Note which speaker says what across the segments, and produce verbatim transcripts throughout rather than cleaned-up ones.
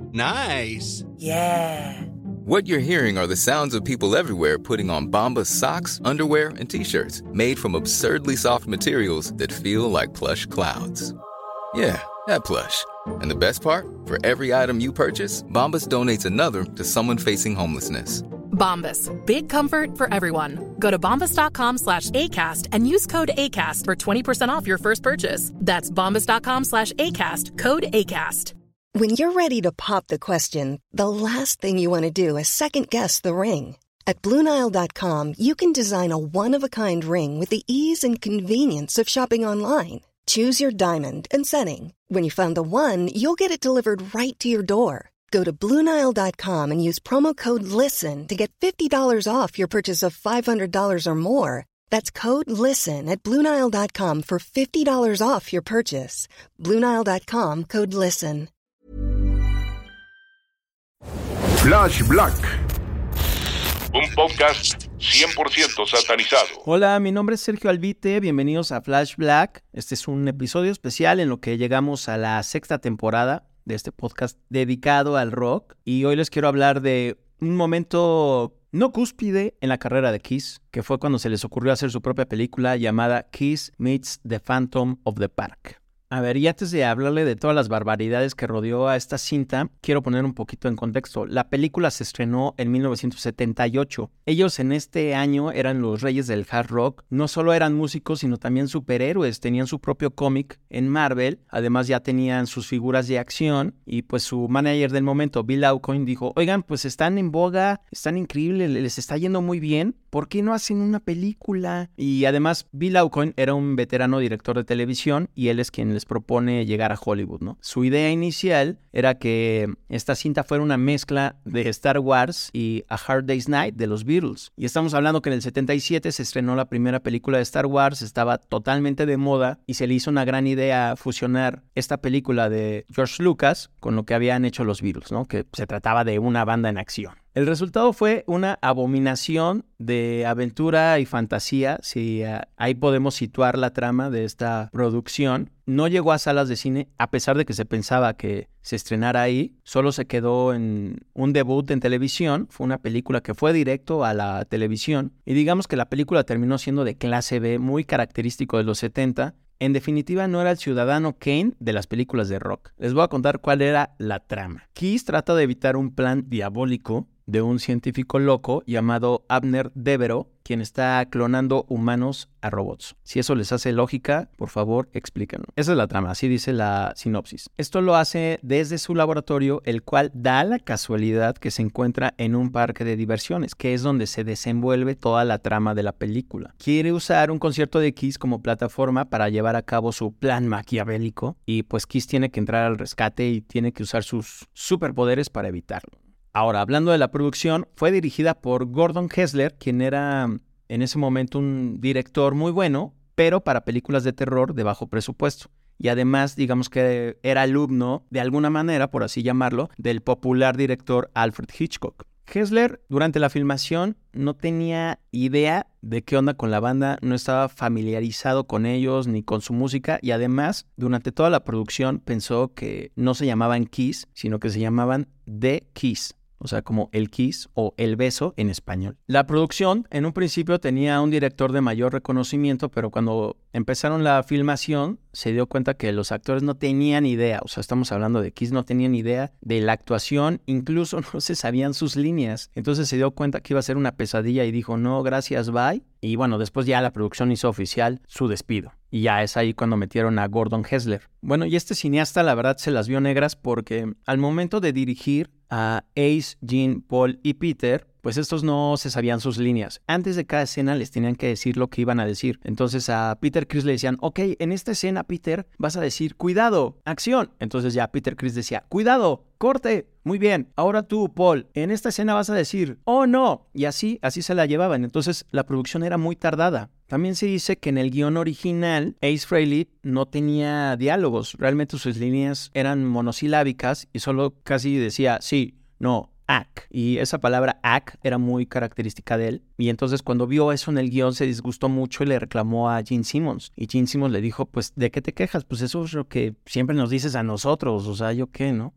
Speaker 1: Nice.
Speaker 2: Yeah.
Speaker 3: What you're hearing are the sounds of people everywhere putting on Bombas socks, underwear, and T-shirts made from absurdly soft materials that feel like plush clouds. Yeah, that plush. And the best part? For every item you purchase, Bombas donates another to someone facing homelessness.
Speaker 4: Bombas. Big comfort for everyone. Go to bombas.com slash ACAST and use code ACAST for twenty percent off your first purchase. That's bombas.com slash ACAST. Code ACAST.
Speaker 5: When you're ready to pop the question, the last thing you want to do is second-guess the ring. At Blue Nile dot com, you can design a one-of-a-kind ring with the ease and convenience of shopping online. Choose your diamond and setting. When you find the one, you'll get it delivered right to your door. Go to Blue Nile dot com and use promo code LISTEN to get fifty dollars off your purchase of five hundred dollars or more. That's code LISTEN at Blue Nile dot com for fifty dollars off your purchase. Blue Nile dot com, code LISTEN.
Speaker 6: Flash Black, un podcast cien por ciento satanizado.
Speaker 7: Hola, mi nombre es Sergio Albite, bienvenidos a Flash Black. Este es un episodio especial en lo que llegamos a la sexta temporada de este podcast dedicado al rock. Y hoy les quiero hablar de un momento no cúspide en la carrera de Kiss, que fue cuando se les ocurrió hacer su propia película llamada Kiss Meets the Phantom of the Park. A ver, y antes de hablarle de todas las barbaridades que rodeó a esta cinta, quiero poner un poquito en contexto. La película se estrenó en mil novecientos setenta y ocho. Ellos en este año eran los reyes del hard rock. No solo eran músicos, sino también superhéroes. Tenían su propio cómic en Marvel. Además ya tenían sus figuras de acción. Y pues su manager del momento, Bill Aucoin, dijo, oigan, pues están en boga, están increíbles, les está yendo muy bien. ¿Por qué no hacen una película? Y además Bill Aucoin era un veterano director de televisión y él es quien les propone llegar a Hollywood, ¿no? Su idea inicial era que esta cinta fuera una mezcla de Star Wars y A Hard Day's Night de los Beatles. Y estamos hablando que en el setenta y siete se estrenó la primera película de Star Wars, estaba totalmente de moda y se le hizo una gran idea fusionar esta película de George Lucas con lo que habían hecho los Beatles, ¿no? Que se trataba de una banda en acción. El resultado fue una abominación de aventura y fantasía, si uh, ahí podemos situar la trama de esta producción. No llegó a salas de cine, a pesar de que se pensaba que se estrenara ahí. Solo se quedó en un debut en televisión. Fue una película que fue directo a la televisión. Y digamos que la película terminó siendo de clase B, muy característico de los setenta. En definitiva, no era el ciudadano Kane de las películas de rock. Les voy a contar cuál era la trama. Kiss trata de evitar un plan diabólico de un científico loco llamado Abner Devereaux, quien está clonando humanos a robots. Si eso les hace lógica, por favor, explíquenlo. Esa es la trama, así dice la sinopsis. Esto lo hace desde su laboratorio, el cual da la casualidad que se encuentra en un parque de diversiones, que es donde se desenvuelve toda la trama de la película. Quiere usar un concierto de Kiss como plataforma para llevar a cabo su plan maquiavélico, y pues Kiss tiene que entrar al rescate y tiene que usar sus superpoderes para evitarlo. Ahora, hablando de la producción, fue dirigida por Gordon Hessler, quien era en ese momento un director muy bueno, pero para películas de terror de bajo presupuesto. Y además, digamos que era alumno, de alguna manera, por así llamarlo, del popular director Alfred Hitchcock. Hessler, durante la filmación, no tenía idea de qué onda con la banda, no estaba familiarizado con ellos ni con su música, y además, durante toda la producción pensó que no se llamaban Kiss, sino que se llamaban The Kiss. O sea, como el kiss o el beso en español. La producción en un principio tenía un director de mayor reconocimiento, pero cuando empezaron la filmación se dio cuenta que los actores no tenían idea. O sea, estamos hablando de Kiss, no tenían idea de la actuación, incluso no se sabían sus líneas. Entonces se dio cuenta que iba a ser una pesadilla y dijo, no, gracias, bye. Y bueno, después ya la producción hizo oficial su despido. Y ya es ahí cuando metieron a Gordon Hessler. Bueno, y este cineasta la verdad se las vio negras porque al momento de dirigir a Ace, Gene, Paul y Peter, pues estos no se sabían sus líneas. Antes de cada escena les tenían que decir lo que iban a decir. Entonces a Peter Criss le decían, ok, en esta escena, Peter, vas a decir, cuidado, acción. Entonces ya Peter Criss decía, cuidado, corte. Muy bien, ahora tú, Paul, en esta escena vas a decir, oh no. Y así, así se la llevaban. Entonces la producción era muy tardada. También se dice que en el guión original, Ace Frehley no tenía diálogos. Realmente sus líneas eran monosilábicas y solo casi decía sí, no, ac. Y esa palabra ac era muy característica de él. Y entonces cuando vio eso en el guión se disgustó mucho y le reclamó a Gene Simmons. Y Gene Simmons le dijo, pues, ¿de qué te quejas? Pues eso es lo que siempre nos dices a nosotros. O sea, ¿yo qué, no?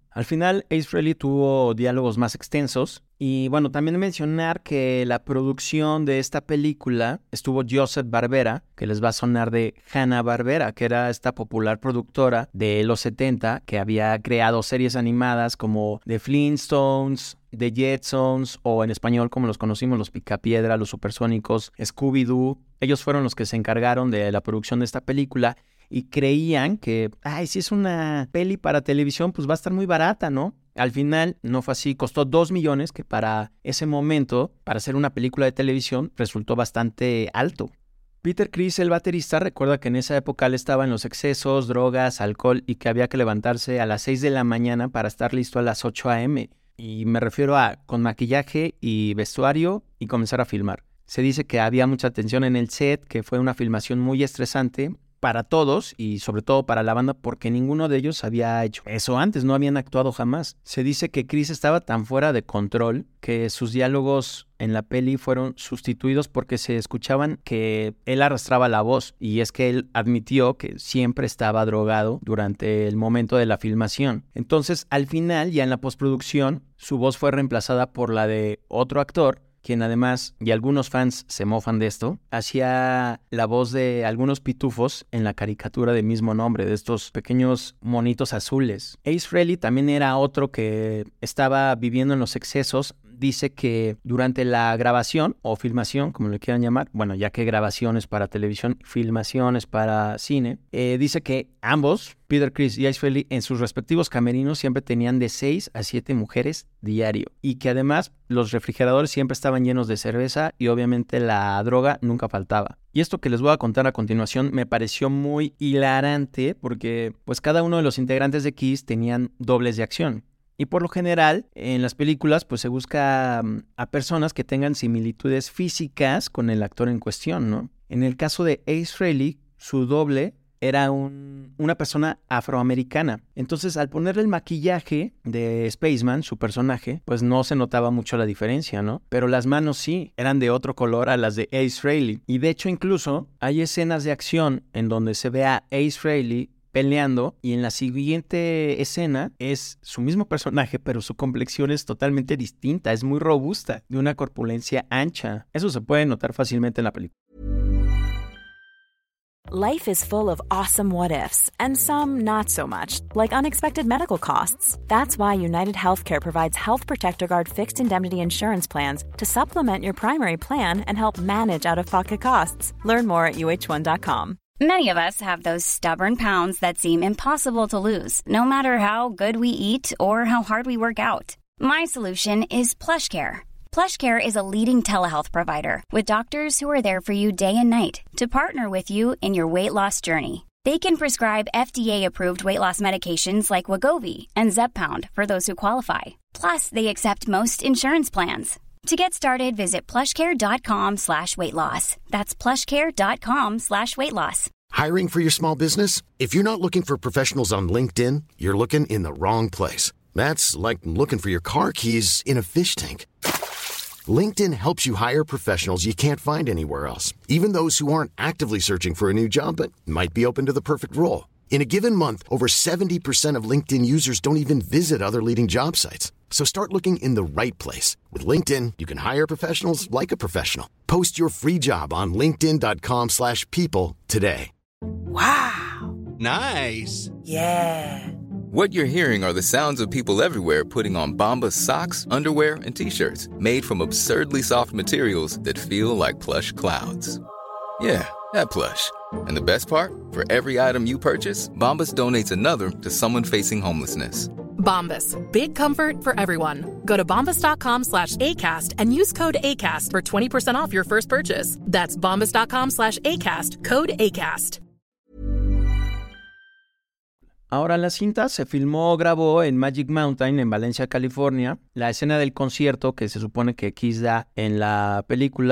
Speaker 7: Al final, Ace Frehley tuvo diálogos más extensos. Y bueno, también mencionar que la producción de esta película estuvo Joseph Barbera, que les va a sonar de Hanna-Barbera, que era esta popular productora de los setenta que había creado series animadas como The Flintstones, The Jetsons, o en español como los conocimos, los Picapiedra, los Supersónicos, Scooby-Doo. Ellos fueron los que se encargaron de la producción de esta película y creían que, ay, si es una peli para televisión, pues va a estar muy barata, ¿no? Al final no fue así, costó dos millones, que para ese momento, para hacer una película de televisión, resultó bastante alto. Peter Criss, el baterista, recuerda que en esa época él estaba en los excesos, drogas, alcohol y que había que levantarse a las seis de la mañana para estar listo a las ocho a eme. Y me refiero a con maquillaje y vestuario y comenzar a filmar. Se dice que había mucha tensión en el set, que fue una filmación muy estresante para todos y sobre todo para la banda porque ninguno de ellos había hecho eso antes, no habían actuado jamás. Se dice que Criss estaba tan fuera de control que sus diálogos en la peli fueron sustituidos porque se escuchaban que él arrastraba la voz, y es que él admitió que siempre estaba drogado durante el momento de la filmación. Entonces al final, ya en la postproducción, su voz fue reemplazada por la de otro actor, quien además, y algunos fans se mofan de esto, hacía la voz de algunos pitufos en la caricatura de mismo nombre, de estos pequeños monitos azules. Ace Frehley también era otro que estaba viviendo en los excesos. Dice que durante la grabación o filmación, como le quieran llamar, bueno, ya que grabaciones para televisión, filmaciones para cine, eh, dice que ambos, Peter Criss y Ace Frehley, en sus respectivos camerinos siempre tenían de seis a siete mujeres diario, y que además los refrigeradores siempre estaban llenos de cerveza y obviamente la droga nunca faltaba. Y esto que les voy a contar a continuación me pareció muy hilarante porque pues cada uno de los integrantes de Kiss tenían dobles de acción. Y por lo general, en las películas, pues se busca um, a personas que tengan similitudes físicas con el actor en cuestión, ¿no? En el caso de Ace Frehley, su doble era un, una persona afroamericana. Entonces, al ponerle el maquillaje de Spaceman, su personaje, pues no se notaba mucho la diferencia, ¿no? Pero las manos sí, eran de otro color a las de Ace Frehley. Y de hecho, incluso, hay escenas de acción en donde se ve a Ace Frehley peleando, y en la siguiente escena es su mismo personaje, pero su complexión es totalmente distinta, es muy robusta, de una corpulencia ancha. Eso se puede notar fácilmente en la película.
Speaker 1: Life is full of awesome what-ifs, and some not so much, like unexpected medical costs. That's why United Healthcare provides Health Protector Guard fixed indemnity insurance plans to supplement your primary plan and help manage out-of-pocket costs. Learn more at U H one dot com.
Speaker 2: Many of us have those stubborn pounds that seem impossible to lose, no matter how good we eat or how hard we work out. My solution is PlushCare. PlushCare is a leading telehealth provider with doctors who are there for you day and night to partner with you in your weight loss journey. They can prescribe F D A-approved weight loss medications like Wegovy and Zepbound for those who qualify. Plus, they accept most insurance plans. To get started, visit plushcare.com slash weight loss. That's plushcare.com slash weight loss.
Speaker 8: Hiring for your small business? If you're not looking for professionals on LinkedIn, you're looking in the wrong place. That's like looking for your car keys in a fish tank. LinkedIn helps you hire professionals you can't find anywhere else, even those who aren't actively searching for a new job but might be open to the perfect role. In a given month, over seventy percent of LinkedIn users don't even visit other leading job sites. So start looking in the right place. With LinkedIn, you can hire professionals like a professional. Post your free job on linkedin.com slash people today.
Speaker 9: Wow. Nice.
Speaker 3: Yeah. What you're hearing are the sounds of people everywhere putting on Bombas socks, underwear, and T-shirts made from absurdly soft materials that feel like plush clouds. Yeah, that plush. And the best part? For every item you purchase, Bombas donates another to someone facing homelessness.
Speaker 4: Bombas. Big comfort for everyone. Go to bombas.com slash ACAST and use code ACAST for twenty percent off your first purchase. That's bombas.com slash ACAST. Code ACAST.
Speaker 7: Ahora, la cinta se filmó o grabó en Magic Mountain, en Valencia, California. La escena del concierto que se supone que Kiss da en la película,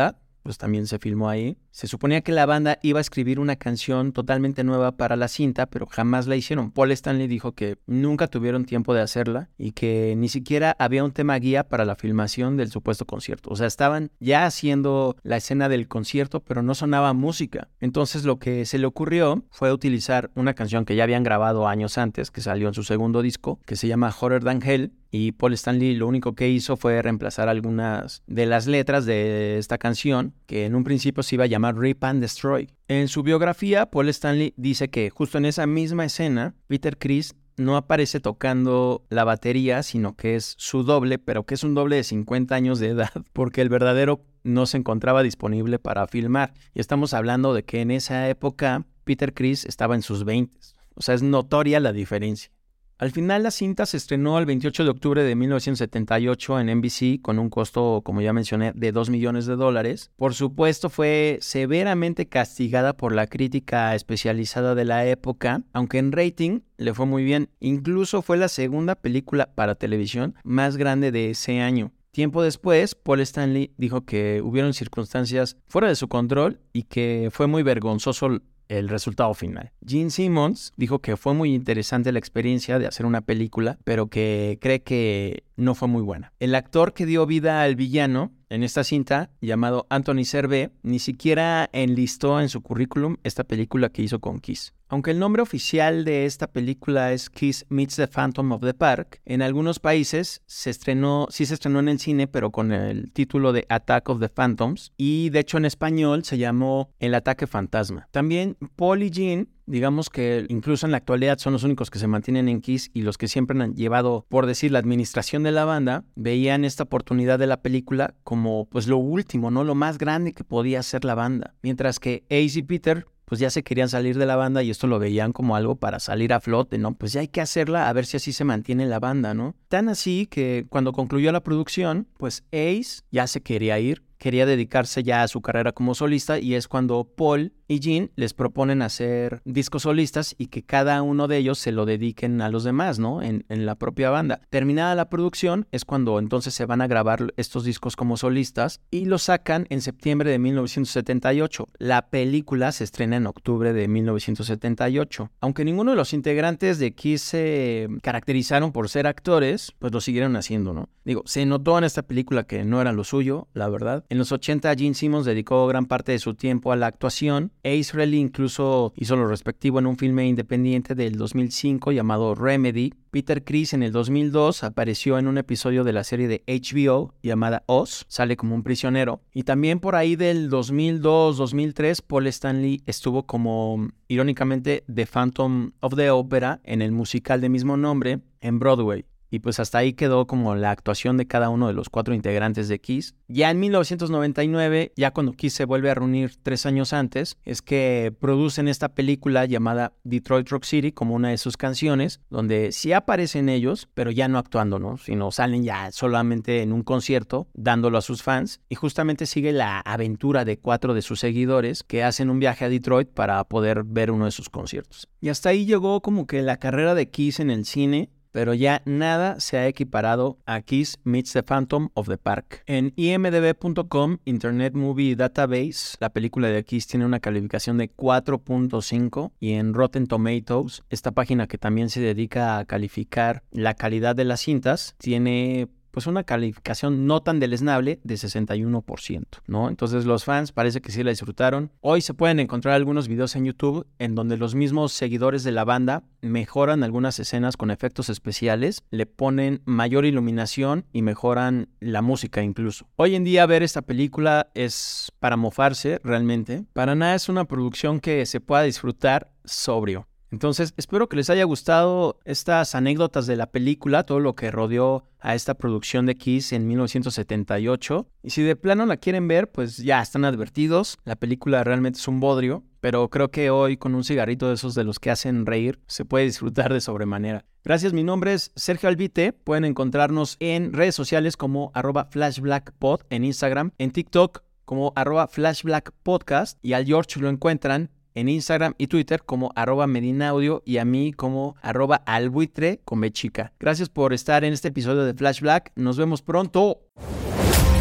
Speaker 7: pues también se filmó ahí. Se suponía que la banda iba a escribir una canción totalmente nueva para la cinta, pero jamás la hicieron. Paul Stanley dijo que nunca tuvieron tiempo de hacerla y que ni siquiera había un tema guía para la filmación del supuesto concierto. O sea, estaban ya haciendo la escena del concierto, pero no sonaba música. Entonces lo que se le ocurrió fue utilizar una canción que ya habían grabado años antes, que salió en su segundo disco, que se llama Hotter Than Hell, y Paul Stanley lo único que hizo fue reemplazar algunas de las letras de esta canción, que en un principio se iba a llamar Rip and Destroy. En su biografía, Paul Stanley dice que justo en esa misma escena, Peter Criss no aparece tocando la batería, sino que es su doble, pero que es un doble de cincuenta años de edad, porque el verdadero no se encontraba disponible para filmar. Y estamos hablando de que en esa época Peter Criss estaba en sus veintes. O sea, es notoria la diferencia. Al final la cinta se estrenó el veintiocho de octubre de mil novecientos setenta y ocho en N B C con un costo, como ya mencioné, de dos millones de dólares. Por supuesto fue severamente castigada por la crítica especializada de la época, aunque en rating le fue muy bien. Incluso fue la segunda película para televisión más grande de ese año. Tiempo después, Paul Stanley dijo que hubieron circunstancias fuera de su control y que fue muy vergonzoso el resultado final. Gene Simmons dijo que fue muy interesante la experiencia de hacer una película, pero que cree que no fue muy buena. El actor que dio vida al villano en esta cinta, llamado Anthony Servais, ni siquiera enlistó en su currículum esta película que hizo con Kiss. Aunque el nombre oficial de esta película es Kiss Meets the Phantom of the Park, en algunos países se estrenó, sí se estrenó en el cine, pero con el título de Attack of the Phantoms, y de hecho en español se llamó El Ataque Fantasma. También Paul y Gene, digamos que incluso en la actualidad son los únicos que se mantienen en Kiss y los que siempre han llevado, por decir, la administración de la banda, veían esta oportunidad de la película como pues lo último, ¿no? Lo más grande que podía hacer la banda. Mientras que Ace y Peter pues ya se querían salir de la banda y esto lo veían como algo para salir a flote, ¿no? Pues ya hay que hacerla a ver si así se mantiene la banda, ¿no? Tan así que cuando concluyó la producción, pues Ace ya se quería ir, quería dedicarse ya a su carrera como solista y es cuando Paul y Gene les proponen hacer discos solistas y que cada uno de ellos se lo dediquen a los demás, ¿no? En, en la propia banda. Terminada la producción es cuando entonces se van a grabar estos discos como solistas y los sacan en septiembre de mil novecientos setenta y ocho. La película se estrena en octubre de mil novecientos setenta y ocho. Aunque ninguno de los integrantes de Kiss se caracterizaron por ser actores, pues lo siguieron haciendo, ¿no? Digo, se notó en esta película que no era lo suyo, la verdad. En los ochenta, Gene Simmons dedicó gran parte de su tiempo a la actuación. Ace Frehley incluso hizo lo respectivo en un filme independiente del dos mil cinco llamado Remedy. Peter Criss en el dos mil dos apareció en un episodio de la serie de H B O llamada Oz, sale como un prisionero. Y también por ahí del dos mil dos dos mil tres, Paul Stanley estuvo como, irónicamente, The Phantom of the Opera en el musical de mismo nombre en Broadway. Y pues hasta ahí quedó como la actuación de cada uno de los cuatro integrantes de Kiss. Ya en mil novecientos noventa y nueve, ya cuando Kiss se vuelve a reunir tres años antes, es que producen esta película llamada Detroit Rock City como una de sus canciones, donde sí aparecen ellos, pero ya no actuando, ¿no? Sino salen ya solamente en un concierto, dándolo a sus fans. Y justamente sigue la aventura de cuatro de sus seguidores que hacen un viaje a Detroit para poder ver uno de sus conciertos. Y hasta ahí llegó como que la carrera de Kiss en el cine, pero ya nada se ha equiparado a Kiss Meets the Phantom of the Park. En I M D B punto com, Internet Movie Database, la película de Kiss tiene una calificación de cuatro punto cinco y en Rotten Tomatoes, esta página que también se dedica a calificar la calidad de las cintas, tiene pues una calificación no tan deleznable de sesenta y uno por ciento, ¿no? Entonces los fans parece que sí la disfrutaron. Hoy se pueden encontrar algunos videos en YouTube en donde los mismos seguidores de la banda mejoran algunas escenas con efectos especiales, le ponen mayor iluminación y mejoran la música incluso. Hoy en día ver esta película es para mofarse realmente. Para nada es una producción que se pueda disfrutar sobrio. Entonces, espero que les haya gustado estas anécdotas de la película, todo lo que rodeó a esta producción de Kiss en mil novecientos setenta y ocho. Y si de plano la quieren ver, pues ya están advertidos. La película realmente es un bodrio, pero creo que hoy con un cigarrito de esos de los que hacen reír, se puede disfrutar de sobremanera. Gracias, mi nombre es Sergio Albite. Pueden encontrarnos en redes sociales como arroba flashblackpod en Instagram, en TikTok como arroba flashblackpodcast y al George lo encuentran en Instagram y Twitter como arroba medinaudio y a mí como arroba albuitre con B chica. Gracias por estar en este episodio de Flash Black. Nos vemos pronto.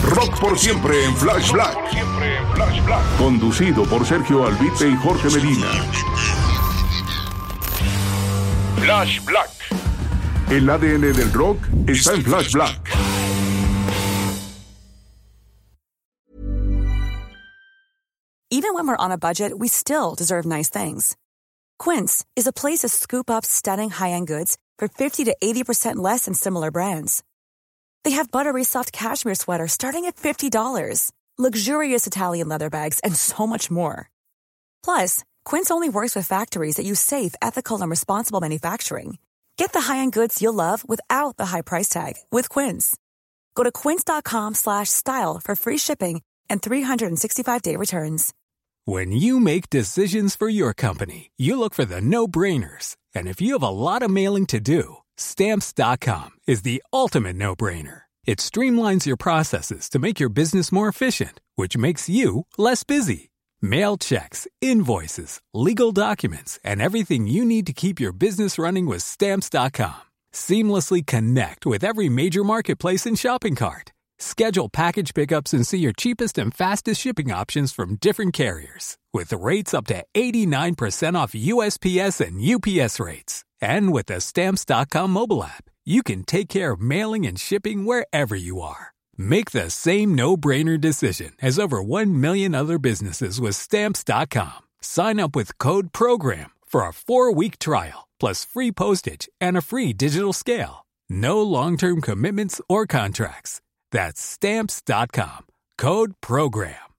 Speaker 6: Rock por siempre en Flash Black. Conducido por Sergio Albite y Jorge Medina. Flash Black. El A D N del rock está en Flash Black.
Speaker 10: Even when we're on a budget, we still deserve nice things. Quince is a place to scoop up stunning high-end goods for fifty to eighty percent less than similar brands. They have buttery soft cashmere sweaters starting at fifty dollars, luxurious Italian leather bags, and so much more. Plus, Quince only works with factories that use safe, ethical, and responsible manufacturing. Get the high-end goods you'll love without the high price tag with Quince. Go to quince.com slash style for free shipping and three sixty-five day returns.
Speaker 11: When you make decisions for your company, you look for the no-brainers. And if you have a lot of mailing to do, Stamps dot com is the ultimate no-brainer. It streamlines your processes to make your business more efficient, which makes you less busy. Mail checks, invoices, legal documents, and everything you need to keep your business running with Stamps dot com. Seamlessly connect with every major marketplace and shopping cart. Schedule package pickups and see your cheapest and fastest shipping options from different carriers. With rates up to eighty-nine percent off U S P S and U P S rates. And with the Stamps dot com mobile app, you can take care of mailing and shipping wherever you are. Make the same no-brainer decision as over one million other businesses with Stamps dot com. Sign up with code PROGRAM for a four-week trial, plus free postage and a free digital scale. No long-term commitments or contracts. That's Stamps dot com. Code PROGRAM.